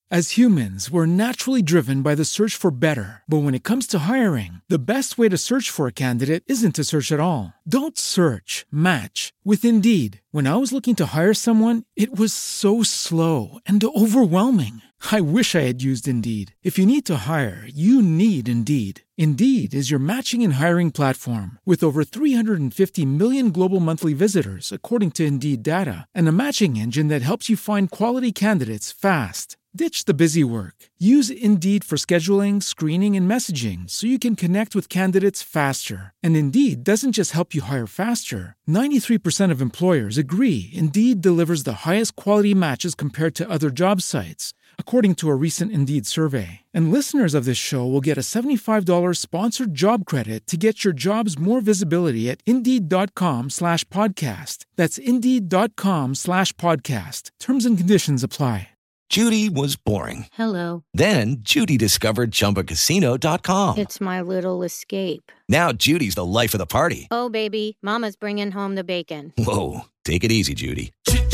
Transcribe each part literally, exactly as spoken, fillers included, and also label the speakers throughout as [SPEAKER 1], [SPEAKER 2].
[SPEAKER 1] As humans, we're naturally driven by the search for better. But when it comes to hiring, the best way to search for a candidate isn't to search at all. Don't search, match with Indeed. When I was looking to hire someone, it was so slow and overwhelming. I wish I had used Indeed. If you need to hire, you need Indeed. Indeed is your matching and hiring platform with over three hundred fifty million global monthly visitors, according to Indeed data, and a matching engine that helps you find quality candidates fast. Ditch the busy work. Use Indeed for scheduling, screening, and messaging so you can connect with candidates faster. And Indeed doesn't just help you hire faster. ninety-three percent of employers agree Indeed delivers the highest quality matches compared to other job sites, according to a recent Indeed survey. And listeners of this show will get a seventy-five dollars sponsored job credit to get your jobs more visibility at Indeed.com slash podcast. That's Indeed.com slash podcast. Terms and conditions apply.
[SPEAKER 2] Judy was boring.
[SPEAKER 3] Hello.
[SPEAKER 2] Then Judy discovered Chumba Casino dot com.
[SPEAKER 3] It's my little escape.
[SPEAKER 2] Now Judy's the life of the party.
[SPEAKER 3] Oh, baby, mama's bringing home the bacon.
[SPEAKER 2] Whoa, take it easy, Judy.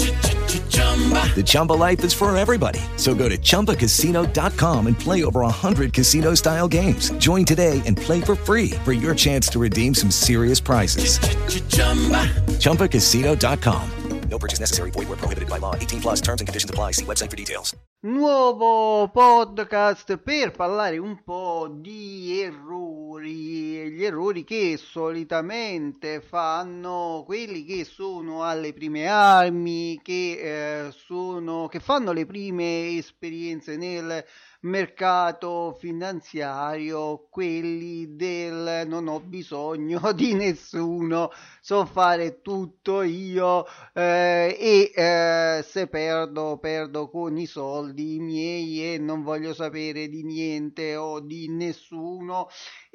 [SPEAKER 2] The Chumba life is for everybody. So go to Chumba Casino dot com and play over one hundred casino-style games. Join today and play for free for your chance to redeem some serious prizes. Chumba Casino dot com. No purchase necessary. Void where prohibited by law. eighteen plus terms and conditions apply. See website for details.
[SPEAKER 4] Nuovo podcast per parlare un po' di errori, gli errori che solitamente fanno quelli che sono alle prime armi, che, eh, sono, che fanno le prime esperienze nel mercato finanziario, quelli del non ho bisogno di nessuno, so fare tutto io, eh, e eh, se perdo perdo con i soldi miei e non voglio sapere di niente o di nessuno.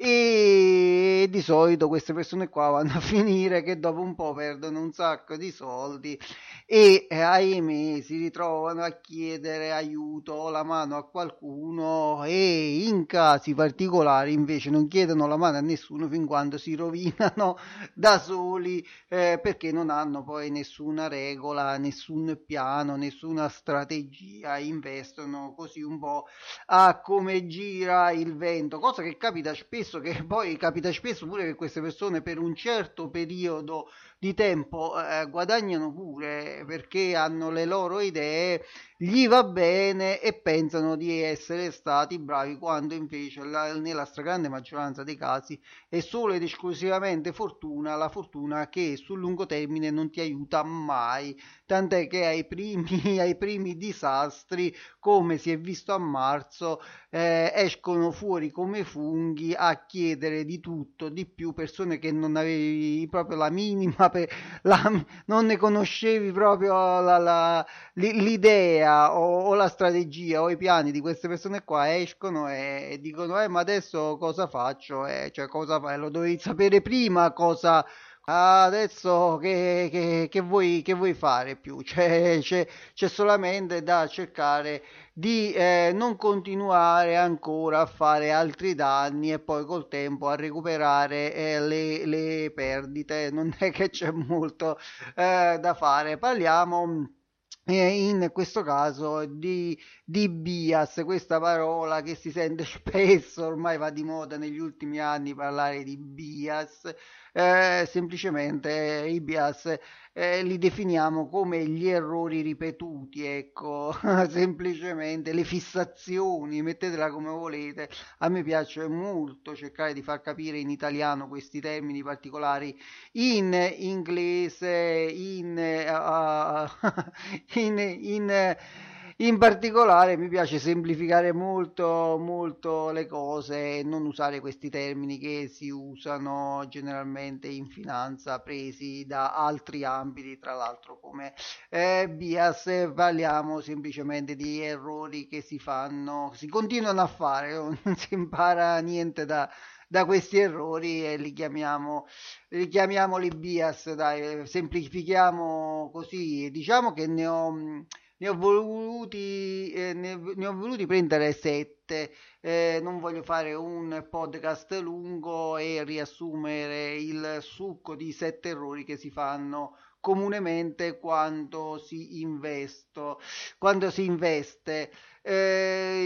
[SPEAKER 4] E di solito queste persone qua vanno a finire che dopo un po' perdono un sacco di soldi e eh, ahimè si ritrovano a chiedere aiuto o la mano a qualcuno, e in casi particolari invece non chiedono la mano a nessuno fin quando si rovinano da soli, eh, perché non hanno poi nessuna regola, nessun piano, nessuna strategia, investono così un po' a come gira il vento, cosa che capita spesso, che poi capita spesso pure che queste persone per un certo periodo di tempo eh, guadagnano pure perché hanno le loro idee, gli va bene e pensano di essere stati bravi, quando invece la, nella stragrande maggioranza dei casi è solo ed esclusivamente fortuna, la fortuna che sul lungo termine non ti aiuta mai, tant'è che ai primi, ai primi disastri, come si è visto a marzo, eh, escono fuori come funghi a chiedere di tutto, di più, persone che non avevi proprio la minima, per, la, non ne conoscevi proprio la, la, l'idea o, o la strategia o i piani di queste persone qua, escono e, e dicono eh ma adesso cosa faccio, eh, cioè cosa fai, lo dovevi sapere prima cosa... Adesso che, che, che, vuoi, che vuoi fare più? C'è, c'è, c'è solamente da cercare di eh, non continuare ancora a fare altri danni e poi col tempo a recuperare eh, le, le perdite. Non è che c'è molto eh, da fare. Parliamo in questo caso di, di bias, questa parola che si sente spesso, ormai va di moda negli ultimi anni parlare di bias. Eh, semplicemente i bias eh, li definiamo come gli errori ripetuti, ecco, semplicemente le fissazioni, mettetela come volete. A me piace molto cercare di far capire in italiano questi termini particolari in inglese, in, uh, in, in In particolare mi piace semplificare molto molto le cose e non usare questi termini che si usano generalmente in finanza, presi da altri ambiti, tra l'altro come eh, bias. Parliamo semplicemente di errori che si fanno, si continuano a fare, non si impara niente da, da questi errori e li chiamiamo, li chiamiamoli bias, dai, semplifichiamo così. Diciamo che ne ho... Ne ho voluti, eh, ne, ne ho voluti prendere sette, eh, non voglio fare un podcast lungo e riassumere il succo di sette errori che si fanno comunemente quando si investo, quando si investe. Eh,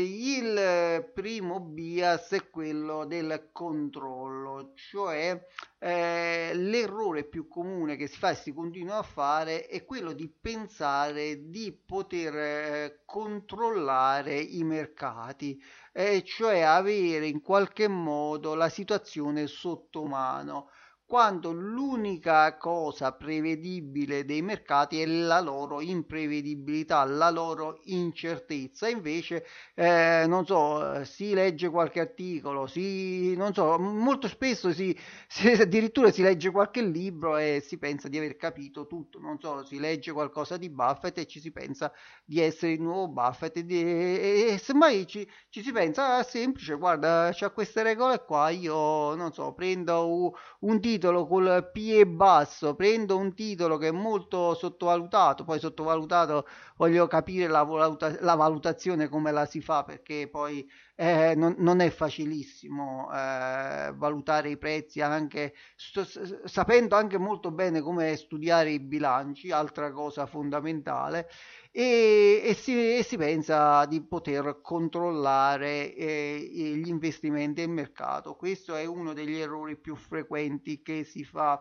[SPEAKER 4] il primo bias è quello del controllo, cioè eh, l'errore più comune che si fa e si continua a fare è quello di pensare di poter eh, controllare i mercati, eh, cioè avere in qualche modo la situazione sotto mano, quando l'unica cosa prevedibile dei mercati è la loro imprevedibilità, la loro incertezza. Invece, eh, non so, si legge qualche articolo, si, non so, molto spesso si, si, addirittura si legge qualche libro e si pensa di aver capito tutto. Non so, si legge qualcosa di Buffett e ci si pensa di essere il nuovo Buffett e, di, e, e semmai ci, ci si pensa, ah, semplice, guarda, c'ha queste regole qua, io non so, prendo un, un titolo col piede basso, prendo un titolo che è molto sottovalutato, poi sottovalutato voglio capire la, valuta- la valutazione come la si fa, perché poi eh, non, non è facilissimo eh, valutare i prezzi, anche st- sapendo anche molto bene come studiare i bilanci, altra cosa fondamentale. E, e, si, e si pensa di poter controllare eh, gli investimenti e il mercato. Questo è uno degli errori più frequenti che si fa.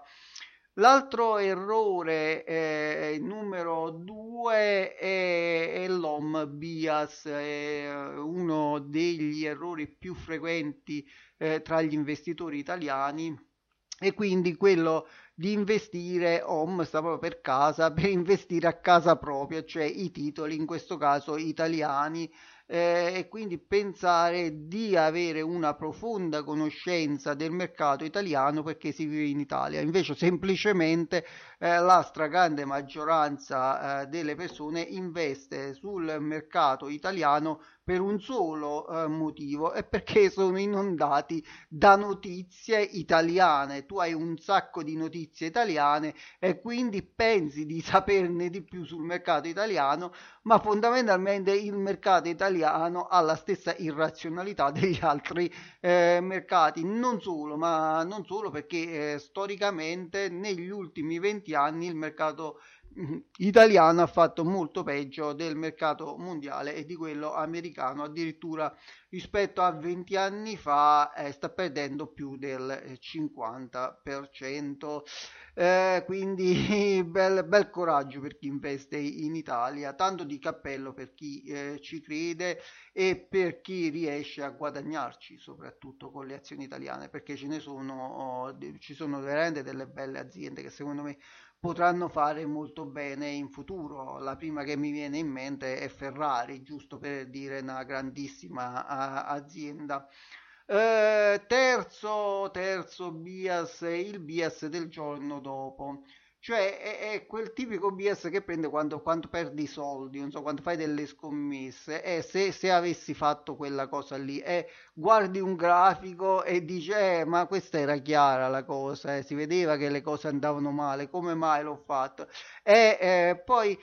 [SPEAKER 4] L'altro errore, eh, numero due, è, è l'home bias, è uno degli errori più frequenti eh, tra gli investitori italiani, e quindi quello di investire home, sta proprio per casa, per investire a casa propria, cioè i titoli in questo caso italiani, eh, e quindi pensare di avere una profonda conoscenza del mercato italiano perché si vive in Italia. Invece semplicemente eh, la stragrande maggioranza eh, delle persone investe sul mercato italiano per un solo eh, motivo, e perché sono inondati da notizie italiane. Tu hai un sacco di notizie italiane e quindi pensi di saperne di più sul mercato italiano, ma fondamentalmente il mercato italiano ha la stessa irrazionalità degli altri eh, mercati. Non solo, ma non solo perché eh, storicamente negli ultimi venti anni il mercato italiano ha fatto molto peggio del mercato mondiale e di quello americano, addirittura rispetto a venti anni fa eh, sta perdendo più del cinquanta per cento. Eh, quindi bel, bel coraggio per chi investe in Italia, tanto di cappello per chi eh, ci crede e per chi riesce a guadagnarci soprattutto con le azioni italiane, perché ce ne sono, oh, ci sono veramente delle belle aziende che secondo me potranno fare molto bene in futuro. La prima che mi viene in mente è Ferrari, giusto per dire una grandissima a, azienda. Eh, terzo, terzo bias, il bias del giorno dopo. Cioè è, è quel tipico bias che prende quando, quando perdi soldi, non so, quando fai delle scommesse, e se, se avessi fatto quella cosa lì, e guardi un grafico e dici, eh, ma questa era chiara la cosa, eh, si vedeva che le cose andavano male, come mai l'ho fatto? E eh, poi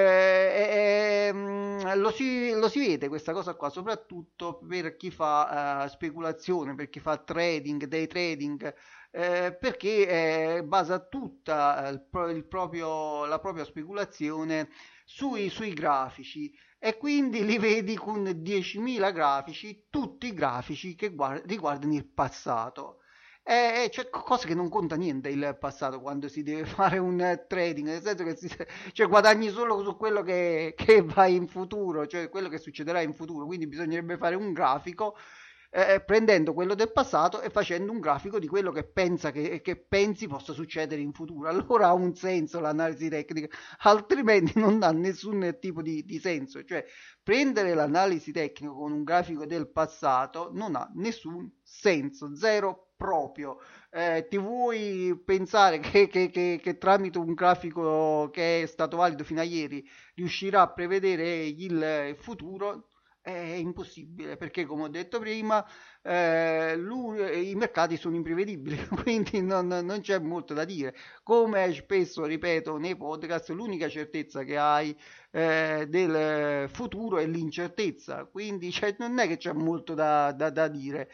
[SPEAKER 4] eh, eh, mh, lo, si, lo si vede questa cosa qua, soprattutto per chi fa eh, speculazione, per chi fa trading, day trading, eh, perché eh, basa tutta il, il proprio, la propria speculazione sui, sui grafici, e quindi li vedi con diecimila grafici, tutti grafici che guard- riguardano il passato. E c'è cosa che non conta niente il passato quando si deve fare un trading, nel senso che si, cioè, guadagni solo su quello che, che va in futuro, cioè quello che succederà in futuro, quindi bisognerebbe fare un grafico eh, prendendo quello del passato e facendo un grafico di quello che pensa che, che pensi possa succedere in futuro. Allora ha un senso l'analisi tecnica, altrimenti non ha nessun tipo di, di senso. Cioè prendere l'analisi tecnica con un grafico del passato non ha nessun senso, zero proprio. Eh, ti vuoi pensare che, che, che, che tramite un grafico che è stato valido fino a ieri riuscirà a prevedere il futuro? È impossibile, perché come ho detto prima, eh, lu- i mercati sono imprevedibili, quindi non, non c'è molto da dire. Come spesso ripeto nei podcast, l'unica certezza che hai eh, del futuro è l'incertezza, quindi cioè, non è che c'è molto da, da- da dire.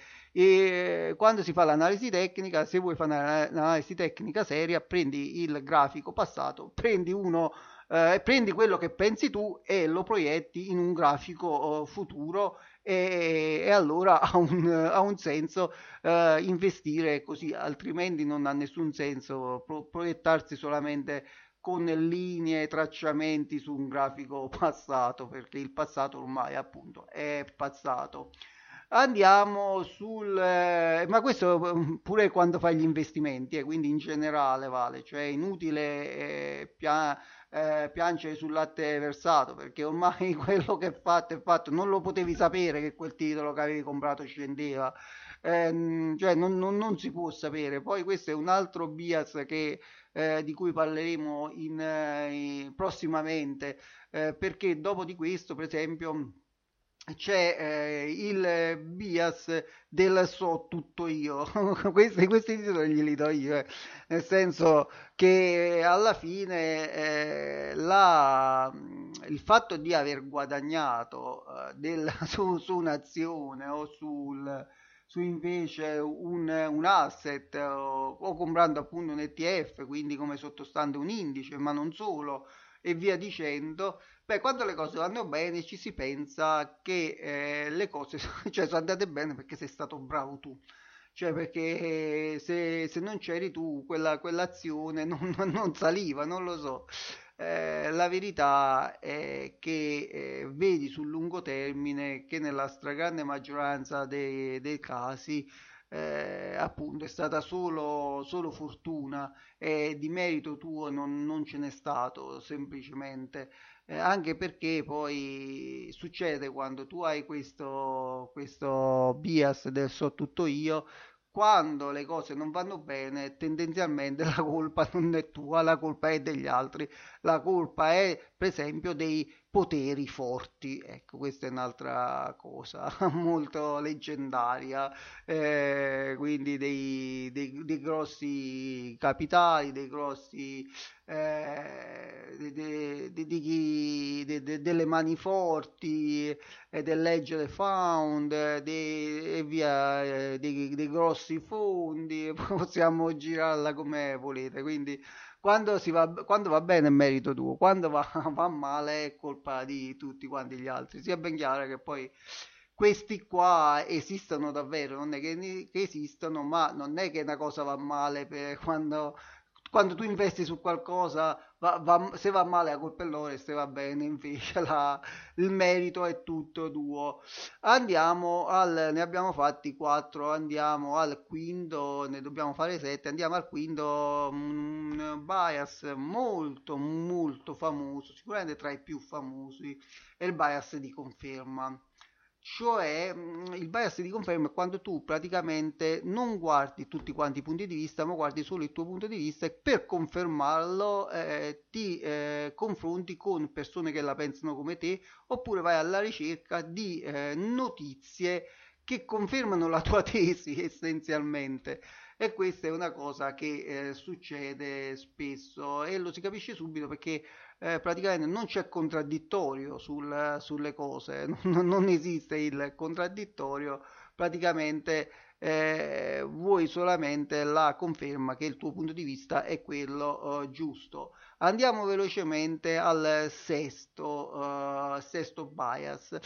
[SPEAKER 4] E quando si fa l'analisi tecnica, se vuoi fare una- un'analisi tecnica seria, prendi il grafico passato, prendi uno eh, prendi quello che pensi tu e lo proietti in un grafico eh, futuro e, e allora ha un, ha un senso eh, investire così, altrimenti non ha nessun senso pro- proiettarsi solamente con linee, tracciamenti su un grafico passato, perché il passato ormai appunto è passato. Andiamo sul... eh, ma questo eh, pure quando fai gli investimenti, eh, quindi in generale vale, cioè è inutile eh, pia- eh, piangere sul latte versato, perché ormai quello che è fatto è fatto, non lo potevi sapere che quel titolo che avevi comprato scendeva. Ehm, cioè non, non- non si può sapere. Poi questo è un altro bias che, eh, di cui parleremo in, eh, in- prossimamente, eh, perché dopo di questo, per esempio, c'è eh, il bias del so tutto io. questi, questi titoli glieli do io, eh. Nel senso che alla fine eh, la- il fatto di aver guadagnato eh, del- su, su un'azione o sul, su invece un, un asset o, o comprando appunto un E T F, quindi come sottostante un indice, ma non solo, e via dicendo. Beh, quando le cose vanno bene ci si pensa che eh, le cose cioè, sono andate bene perché sei stato bravo tu. Cioè perché se, se non c'eri tu quella, quell'azione non, non saliva, non lo so. Eh, la verità è che eh, vedi sul lungo termine che nella stragrande maggioranza dei, dei casi eh, appunto è stata solo, solo fortuna e di merito tuo non, non ce n'è stato semplicemente. Eh, anche perché poi succede quando tu hai questo, questo bias del so tutto io, quando le cose non vanno bene, tendenzialmente la colpa non è tua, la colpa è degli altri, la colpa è per esempio dei poteri forti. Ecco, questa è un'altra cosa molto leggendaria, eh, quindi dei, dei- dei grossi capitali, dei grossi eh, de- de- de- di chi- de- de- delle mani forti e dell'edge found eh, de- e via eh, dei, dei grossi fondi. Possiamo girarla come volete, quindi quando, si va, quando va bene è merito tuo, quando va, va male è colpa di tutti quanti gli altri. Sia ben chiaro che poi questi qua esistono davvero, non è che, che esistono, ma non è che una cosa va male per quando, quando tu investi su qualcosa, va- va- se va male la colpa è loro e se va bene invece la- il merito è tutto tuo. Andiamo al, ne abbiamo fatti quattro, andiamo al quinto, ne dobbiamo fare sette, andiamo al quinto, un bias molto molto famoso, sicuramente tra i più famosi, è il bias di conferma. Cioè, mh, il bias di conferma è quando tu praticamente non guardi tutti quanti i punti di vista, ma guardi solo il tuo punto di vista e per confermarlo eh, ti eh, confronti con persone che la pensano come te oppure vai alla ricerca di eh, notizie che confermano la tua tesi essenzialmente. E questa è una cosa che eh, succede spesso e lo si capisce subito perché eh, praticamente non c'è contraddittorio sul- sulle cose, non, non esiste il contraddittorio, praticamente eh, vuoi solamente la conferma che il tuo punto di vista è quello eh, giusto. Andiamo velocemente al sesto, eh, sesto bias.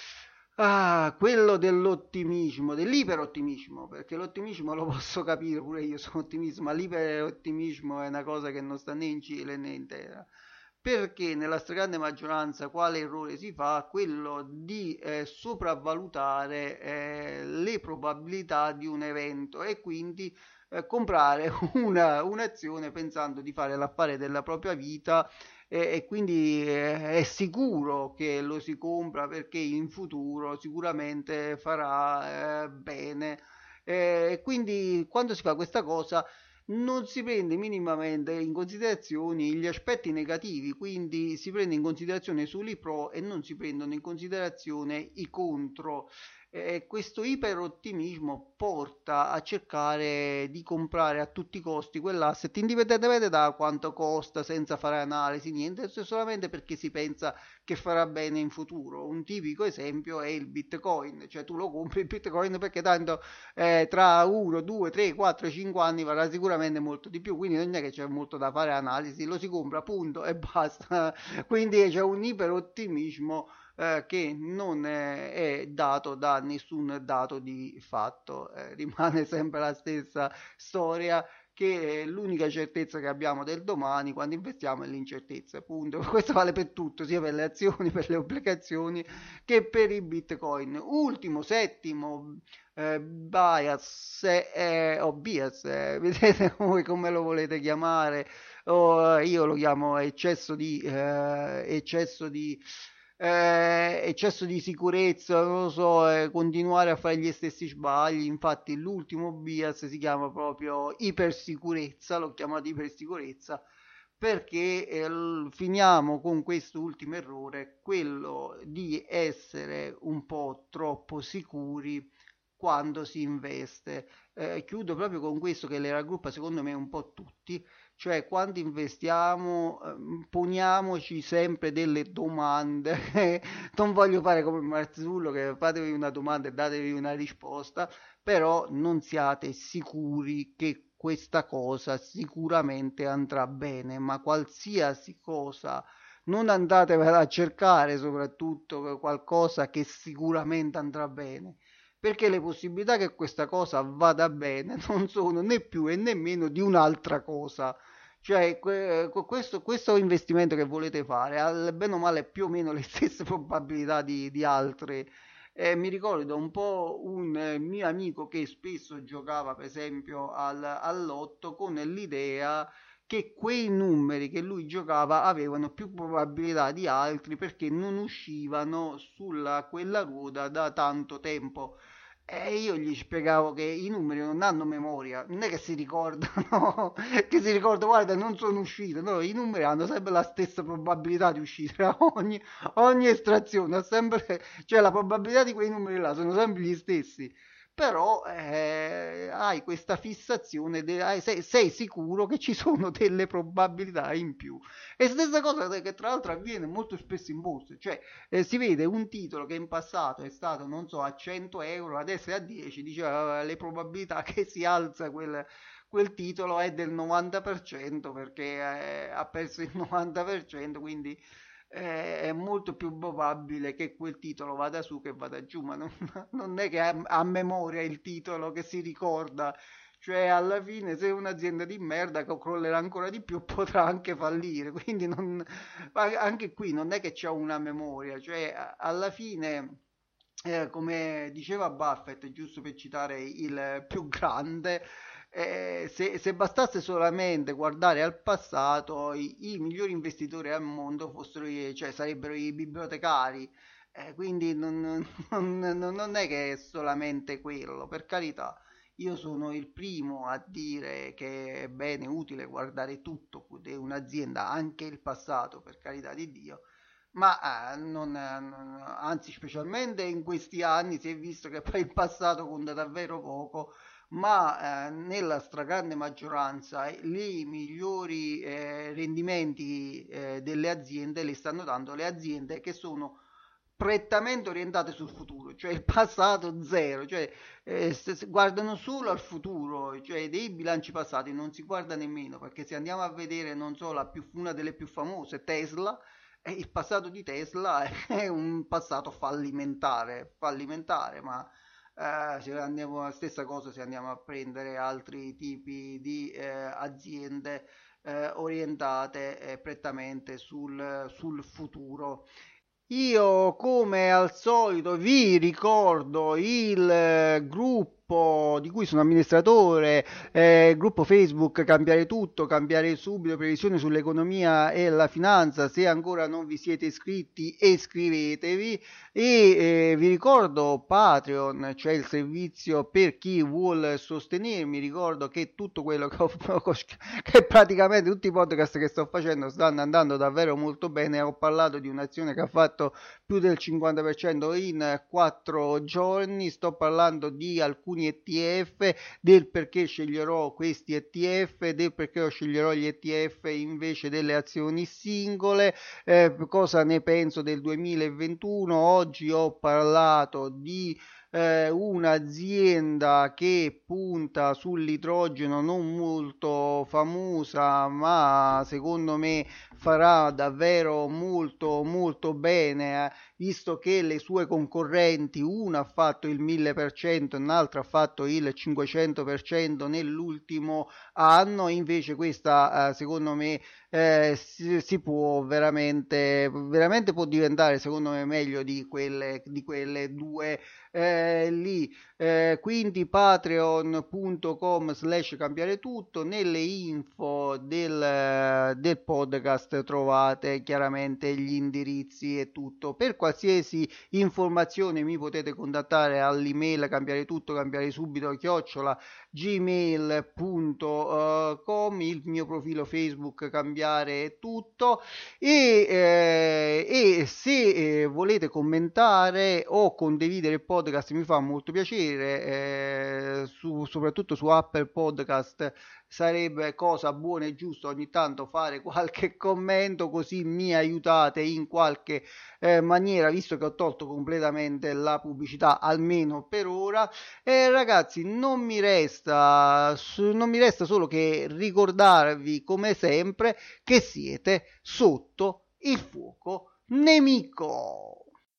[SPEAKER 4] Ah, quello dell'ottimismo, dell'iperottimismo, perché l'ottimismo lo posso capire, pure io sono ottimista, ma l'iperottimismo è una cosa che non sta né in Cile né in terra. Perché nella stragrande maggioranza quale errore si fa? Quello di eh, sopravvalutare eh, le probabilità di un evento e quindi eh, comprare una, un'azione pensando di fare l'affare della propria vita e, e quindi eh, è sicuro che lo si compra perché in futuro sicuramente farà eh, bene. E quindi quando si fa questa cosa non si prende minimamente in considerazione gli aspetti negativi, quindi si prende in considerazione solo i pro e non si prendono in considerazione i contro. Eh, questo iperottimismo porta a cercare di comprare a tutti i costi quell'asset indipendentemente da quanto costa, senza fare analisi, niente, solamente perché si pensa che farà bene in futuro. Un tipico esempio è il Bitcoin, cioè tu lo compri il Bitcoin perché tanto eh, tra uno, due, tre, quattro, cinque anni varrà sicuramente molto di più, quindi non è che c'è molto da fare analisi, lo si compra punto e basta. Quindi c'è un iperottimismo eh, che non è, è dato da nessun dato di fatto, eh, rimane sempre la stessa storia, che l'unica certezza che abbiamo del domani quando investiamo è l'incertezza, punto. Questo vale per tutto, sia per le azioni, per le obbligazioni che per i bitcoin. Ultimo, settimo eh, bias eh, o bias, eh, vedete voi come lo volete chiamare, o eh, io lo chiamo eccesso di eh, eccesso di eh, eccesso di sicurezza, non lo so, eh, continuare a fare gli stessi sbagli. Infatti l'ultimo bias si chiama proprio ipersicurezza, l'ho chiamato ipersicurezza perché eh, l- finiamo con questo ultimo errore, quello di essere un po' troppo sicuri quando si investe. Eh, chiudo proprio con questo che le raggruppa secondo me un po' tutti, cioè quando investiamo ehm, poniamoci sempre delle domande. Non voglio fare come Marzullo che fatevi una domanda e datevi una risposta, però non siate sicuri che questa cosa sicuramente andrà bene, ma qualsiasi cosa non andatevela a cercare, soprattutto qualcosa che sicuramente andrà bene, perché le possibilità che questa cosa vada bene non sono né più e né meno di un'altra cosa. Cioè, que- questo, questo investimento che volete fare ha bene o male più o meno le stesse probabilità di, di altre. Eh, mi ricordo un po' un eh, mio amico che spesso giocava, per esempio, al, all'otto con l'idea che quei numeri che lui giocava avevano più probabilità di altri perché non uscivano sulla quella ruota da tanto tempo. E io gli spiegavo che i numeri non hanno memoria, non è che si ricordano, che si ricorda, guarda, non sono uscito, no, i numeri hanno sempre la stessa probabilità di uscire a ogni, ogni estrazione, ha sempre, cioè la probabilità di quei numeri là sono sempre gli stessi, però eh, hai questa fissazione, de- hai- sei, sei sicuro che ci sono delle probabilità in più. E stessa cosa che tra l'altro avviene molto spesso in borsa, cioè eh, si vede un titolo che in passato è stato, non so, a cento euro, adesso è a dieci, diceva le probabilità che si alza quel, quel titolo è del novanta per cento perché eh, ha perso il novanta per cento, quindi eh, è molto più probabile che quel titolo vada su che vada giù, ma non, non è che ha a memoria il titolo che si ricorda, cioè alla fine se è un'azienda di merda che crollerà ancora di più potrà anche fallire, quindi non, anche qui non è che c'è una memoria, cioè alla fine eh, come diceva Buffett, giusto per citare il più grande, eh, se, se bastasse solamente guardare al passato, i, i migliori investitori al mondo fossero, i- cioè, sarebbero i bibliotecari. Eh, quindi non, non- non- non è che è solamente quello, per carità. Io sono il primo a dire che è bene, utile guardare tutto di un'azienda, anche il passato, per carità di Dio, ma eh, non, eh, non- anzi, specialmente in questi anni si è visto che poi il passato conta davvero poco, ma eh, nella stragrande maggioranza eh, i migliori eh, rendimenti eh, delle aziende li stanno dando le aziende che sono prettamente orientate sul futuro, cioè il passato zero, cioè eh, se- se guardano solo al futuro, cioè dei bilanci passati non si guarda nemmeno, perché se andiamo a vedere, non so, la più, una delle più famose, Tesla, eh, il passato di Tesla è un passato fallimentare, fallimentare, ma eh, se andiamo la stessa cosa se andiamo a prendere altri tipi di eh, aziende eh, orientate eh, prettamente sul, sul futuro. Io come al solito vi ricordo il eh, gruppo gruppo di cui sono amministratore, eh, gruppo Facebook Cambiare Tutto, Cambiare Subito, previsioni sull'economia e la finanza. Se ancora non vi siete iscritti, iscrivetevi. E eh, vi ricordo Patreon, cioè il servizio per chi vuole sostenermi. Ricordo che tutto quello che ho che praticamente tutti i podcast che sto facendo stanno andando davvero molto bene. Ho parlato di un'azione che ha fatto più del cinquanta per cento in quattro giorni. Sto parlando di alcuni E T F, del perché sceglierò questi E T F, del perché io sceglierò gli E T F invece delle azioni singole, eh, cosa ne penso del duemilaventuno. Oggi ho parlato di Eh, un'azienda che punta sull'idrogeno, non molto famosa, ma secondo me farà davvero molto molto bene, eh, visto che le sue concorrenti, una ha fatto il mille per cento e un'altra ha fatto il cinquecento per cento nell'ultimo anno. Invece questa eh, secondo me eh, si, si può veramente veramente può diventare secondo me meglio di quelle di quelle due Eh, lì eh, quindi patreon punto com slash cambiare tutto. Nelle info del, del podcast trovate chiaramente gli indirizzi e tutto. Per qualsiasi informazione mi potete contattare all'email cambiare tutto cambiare subito chiocciola gmail punto com, il mio profilo Facebook Cambiare Tutto, e, eh, e se eh, volete commentare o condividere il podcast mi fa molto piacere, eh, su, soprattutto su Apple Podcast sarebbe cosa buona e giusta ogni tanto fare qualche commento, così mi aiutate in qualche eh, maniera, visto che ho tolto completamente la pubblicità almeno per ora. E ragazzi, non mi resta non mi resta solo che ricordarvi come sempre che siete sotto il fuoco nemico.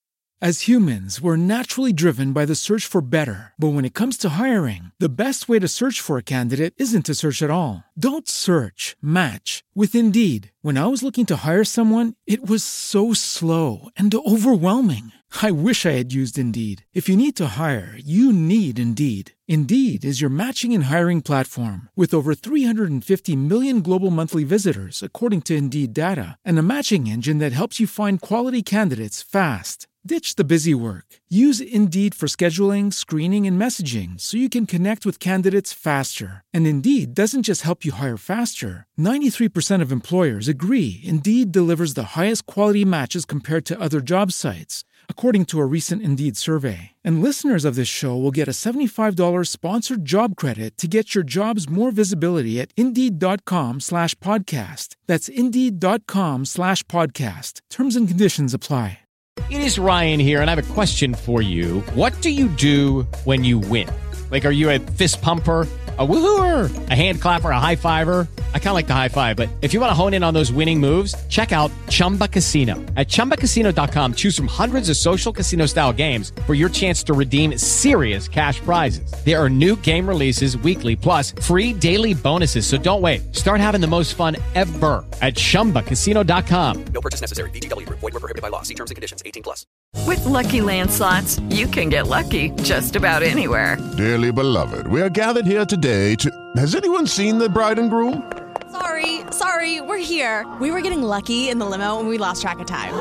[SPEAKER 1] As humans, we're naturally driven by the search for better. But when it comes to hiring, the best way to search for a candidate isn't to search at all. Don't search, match with Indeed. When I was looking to hire someone, it was so slow and overwhelming. I wish I had used Indeed. If you need to hire, you need Indeed. Indeed is your matching and hiring platform with over three hundred fifty million global monthly visitors, according to Indeed data, and a matching engine that helps you find quality candidates fast. Ditch the busy work. Use Indeed for scheduling, screening, and messaging so you can connect with candidates faster. And Indeed doesn't just help you hire faster. ninety-three percent of employers agree Indeed delivers the highest quality matches compared to other job sites, according to a recent Indeed survey. And listeners of this show will get a seventy-five dollars sponsored job credit to get your jobs more visibility at Indeed.com slash podcast. That's Indeed.com slash podcast. Terms and conditions apply.
[SPEAKER 5] It is Ryan here, and I have a question for you. What do you do when you win? Like, are you a fist pumper, a woohooer, a hand clapper, a high fiver? I kind of like the high five, but if you want to hone in on those winning moves, check out Chumba Casino. At Chumba Casino dot com, choose from hundreds of social casino-style games for your chance to redeem serious cash prizes. There are new game releases weekly, plus free daily bonuses, so don't wait. Start having the most fun ever at Chumba Casino dot com.
[SPEAKER 6] No purchase necessary. V G W. Void were prohibited by law. See terms and conditions. eighteen plus.
[SPEAKER 7] With Lucky Land Slots, you can get lucky just about anywhere.
[SPEAKER 8] Dearly beloved, we are gathered here today to... Has anyone seen the bride and groom?
[SPEAKER 9] Sorry, sorry, we're here. We were getting lucky in the limo and we lost track of time.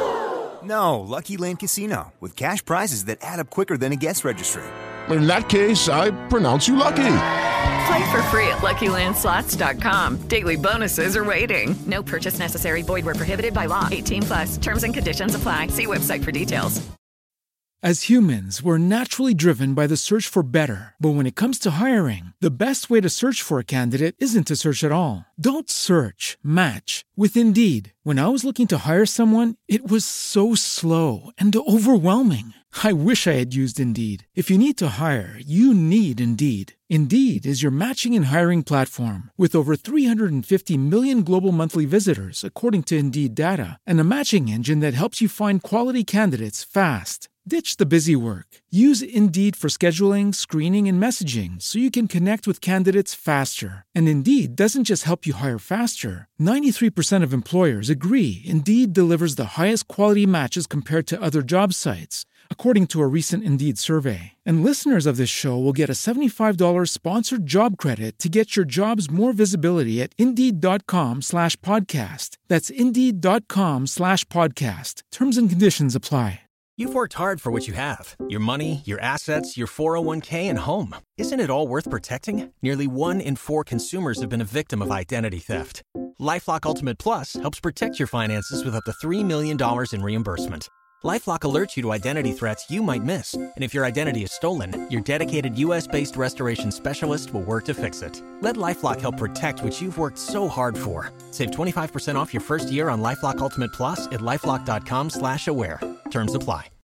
[SPEAKER 10] No, Lucky Land Casino, with cash prizes that add up quicker than a guest registry.
[SPEAKER 8] In that case, I pronounce you lucky.
[SPEAKER 7] Play for free at Lucky Land Slots dot com. Daily bonuses are waiting. No purchase necessary. Void where prohibited by law. eighteen plus. Terms and conditions apply. See website for details.
[SPEAKER 1] As humans, we're naturally driven by the search for better. But when it comes to hiring, the best way to search for a candidate isn't to search at all. Don't search, match with Indeed. When I was looking to hire someone, it was so slow and overwhelming. I wish I had used Indeed. If you need to hire, you need Indeed. Indeed is your matching and hiring platform with over three hundred fifty million global monthly visitors, according to Indeed data, and a matching engine that helps you find quality candidates fast. Ditch the busy work. Use Indeed for scheduling, screening, and messaging so you can connect with candidates faster. And Indeed doesn't just help you hire faster. ninety-three percent of employers agree Indeed delivers the highest quality matches compared to other job sites, according to a recent Indeed survey. And listeners of this show will get a seventy-five dollars sponsored job credit to get your jobs more visibility at Indeed.com slash podcast. That's Indeed.com slash podcast. Terms and conditions apply.
[SPEAKER 11] You've worked hard for what you have. Your money, your assets, your four oh one k, and home. Isn't it all worth protecting? Nearly one in four consumers have been a victim of identity theft. LifeLock Ultimate Plus helps protect your finances with up to three million dollars in reimbursement. LifeLock alerts you to identity threats you might miss. And if your identity is stolen, your dedicated U S based restoration specialist will work to fix it. Let LifeLock help protect what you've worked so hard for. Save twenty-five percent off your first year on LifeLock Ultimate Plus at LifeLock.com slash aware. Terms apply.